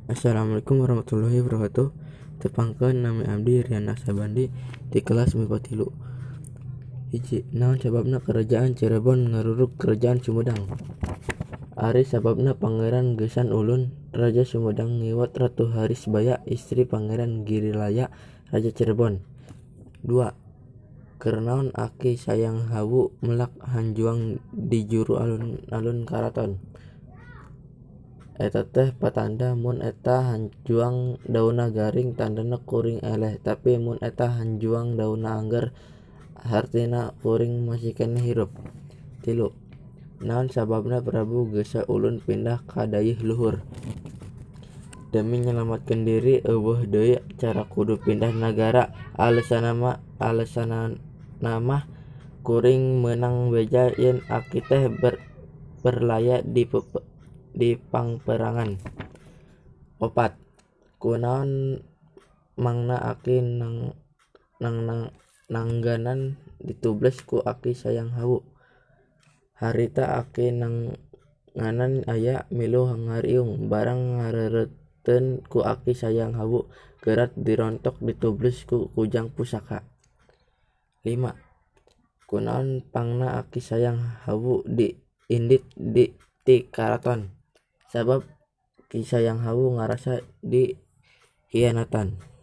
Assalamualaikum warahmatullahi wabarakatuh. Tepangkeun nami abdi Riana Sabandi di kelas MIPA 3. Hiji, naon sababna kerajaan Cirebon ngarurug kerajaan Sumedang? Ari sababna Pangeran Gesang Ulun Raja Sumedang ngiwat Ratu Harisbaya istri Pangeran Girilaya Raja Cirebon. 2. Keur naon Aki Sayang Hawu melak hanjuang di juru alun-alun karaton? Eta teh patanda mun eta hanjuang daunna garing tandana kuring eleh, tapi mun eta hanjuang daunna angger hartina kuring masih keneh hirup. 3. Naon sababna Prabu Gesa Ulun pindah ka dayeuh luhur? Demi nyelamatkeun diri eueuh deui cara kudu pindah nagara. Alesanana mah kuring meunang beja yen Aki teh berlaya di pangperangan. 4. Kunaon mangna Aki nangganan ditubles ku Aki Sayang Hawu? Harita Aki nangganan aya milu ngariung barang ngareureutkeun ku Aki Sayang Hawu gerat dirontok ditubles ku kujang pusaka. 5. Kunaon pangna Aki Sayang Hawu diindit ti karaton? Sabab Ki Sayang Hawu ngarasa dihianatan.